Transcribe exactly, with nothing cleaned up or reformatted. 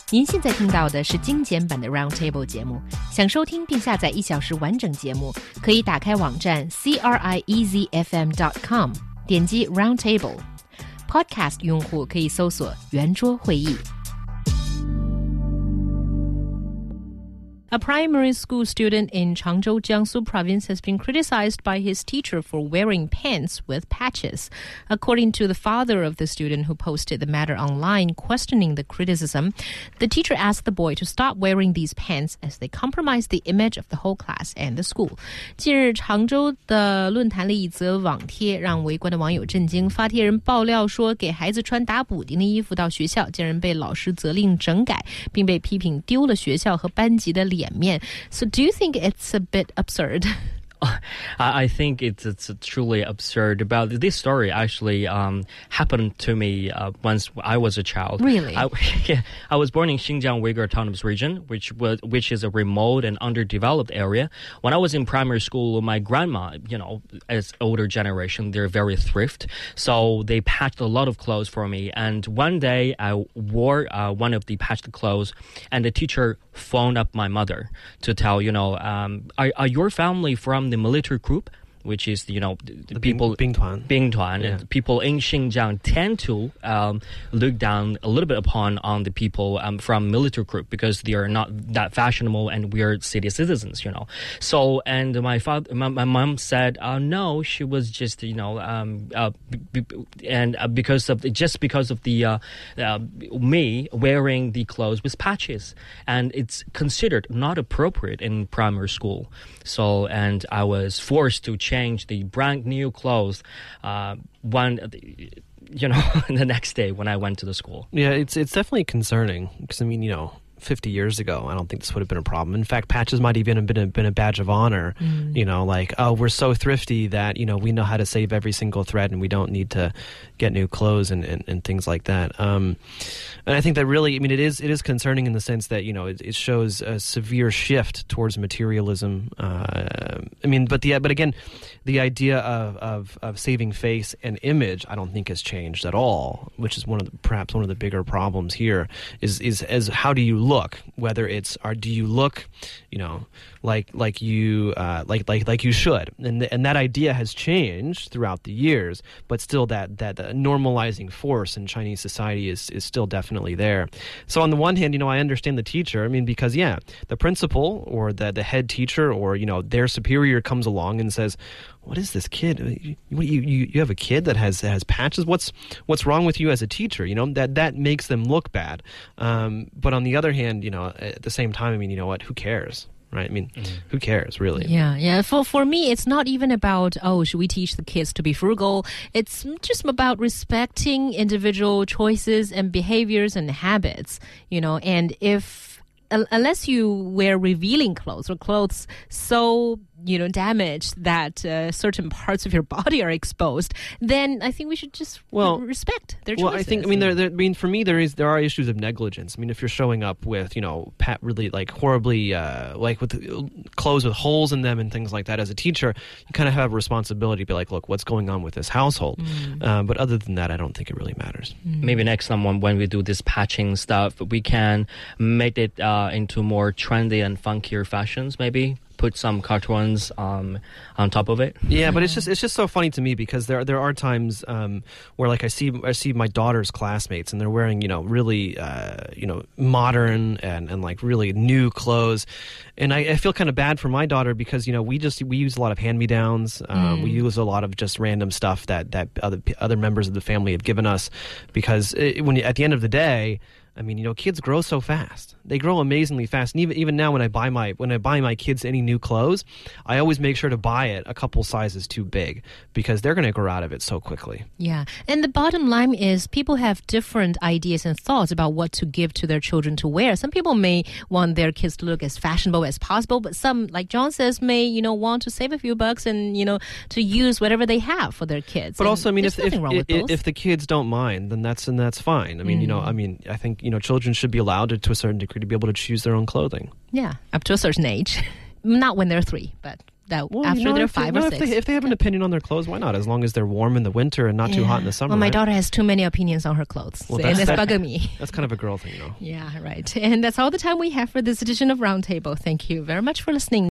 您现在听到的是精简版的 Roundtable 节目。想收听并下载一小时完整节目，可以打开网站 c r i e z f m dot com， 点击 Roundtable。Podcast 用户可以搜索圆桌会议。A primary school student in Changzhou, Jiangsu province has been criticized by his teacher for wearing pants with patches. According to the father of the student who posted the matter online questioning the criticism, the teacher asked the boy to stop wearing these pants as they compromise the image of the whole class and the school. 近日常州的论坛里一则网贴让围观的网友震惊，发帖人爆料说给孩子穿打补丁的衣服到学校，竟然被老师责令整改，并被批评丢了学校和班级的脸面。 So do you think it's a bit absurd? I think it's it's truly absurd. About this story actually um, happened to me uh, once I was a child. Really? I, yeah, I was born in Xinjiang Uyghur Autonomous Region, which was which is a remote and underdeveloped area. When I was in primary school, my grandma, you know, as older generation, they're very thrift, so they patched a lot of clothes for me. And one day, I wore uh, one of the patched clothes, and the teacher phoned up my mother to tell, you know, um, are, are your family from the military group, which is, you know, the, the people... Bing Tuan. Bing Tuan. Yeah. And people in Xinjiang tend to um, look down a little bit upon on the people um, from military group because they are not that fashionable and we're city citizens, you know. So, and my father, my, my mom said, uh, no, she was just, you know, um, uh, b- b- and uh, because of, just because of the, uh, uh, me wearing the clothes with patches. And it's considered not appropriate in primary school. So, and I was forced to change the brand new clothes uh, one, you know, the next day when I went to the school. Yeah, it's it's definitely concerning because, I mean, you know, fifty years ago, I don't think this would have been a problem. In fact, patches might even have been a, been a badge of honor, mm. you know, like, oh, we're so thrifty that, you know, we know how to save every single thread and we don't need to get new clothes and, and, and things like that. Um, and I think that really, I mean, it is it is concerning in the sense that, you know, it, it shows a severe shift towards materialism. Uh, I mean, but the but again, the idea of, of, of saving face and image, I don't think has changed at all, which is one of the, perhaps one of the bigger problems here is, is as how do you look, whether it's, or do you look, you know, like like you uh, like like like you should, and th- and that idea has changed throughout the years, but still that that uh, normalizing force in Chinese society is is still definitely there. So on the one hand, you know, I understand the teacher. I mean, because yeah, the principal or the the head teacher or you know their superior comes along and says, what is this kid? You, you you have a kid that has has patches. What's what's wrong with you as a teacher? You know that that makes them look bad. Um, but on the other hand, you know, at the same time, I mean, you know what? Who cares? Right? I mean, mm. who cares, really? Yeah, yeah. For for me, it's not even about, oh, should we teach the kids to be frugal? It's just about respecting individual choices and behaviors and habits, you know, and if, unless you wear revealing clothes or clothes so, you know, damaged that uh, certain parts of your body are exposed, then I think we should just well, respect their choices. Well, I think, I mean, there, there, I mean, for me, there is there are issues of negligence. I mean, if you're showing up with, you know, pat, really like horribly, uh, like with clothes with holes in them and things like that, as a teacher, you kind of have a responsibility to be like, look, what's going on with this household? Mm. Uh, but other than that, I don't think it really matters. Mm. Maybe next time when we do this patching stuff, we can make it uh, into more trendy and funkier fashions, maybe. Put some cartoons um, on top of it. Yeah, but it's just it's just so funny to me because there there are times um, where like I see I see my daughter's classmates and they're wearing you know really uh, you know modern and, and like really new clothes, and I, I feel kind of bad for my daughter because you know we just we use a lot of hand-me-downs. Um, mm. We use a lot of just random stuff that that other other members of the family have given us because it, when you, at the end of the day. I mean, you know, kids grow so fast. They grow amazingly fast. And even even now, when I buy my when I buy my kids any new clothes, I always make sure to buy it a couple sizes too big because they're going to grow out of it so quickly. Yeah, and the bottom line is people have different ideas and thoughts about what to give to their children to wear. Some people may want their kids to look as fashionable as possible, but some, like John says, may you know want to save a few bucks and you know to use whatever they have for their kids. But and also, I mean, if if, if, if the kids don't mind, then that's and that's fine. I mean, mm. you know, I mean, I think. You know, children should be allowed to, to a certain degree to be able to choose their own clothing. Yeah, up to a certain age. Not when they're three, but that Well, after you know, they're if they- five no, or if six. they, if they have an opinion on their clothes, why not? As long as they're warm in the winter and not too hot in the summer. Well, my right? daughter has too many opinions on her clothes. Well, and that's- it's that- bugging me. That's kind of a girl thing, though. Yeah, right. And that's all the time we have for this edition of Roundtable. Thank you very much for listening.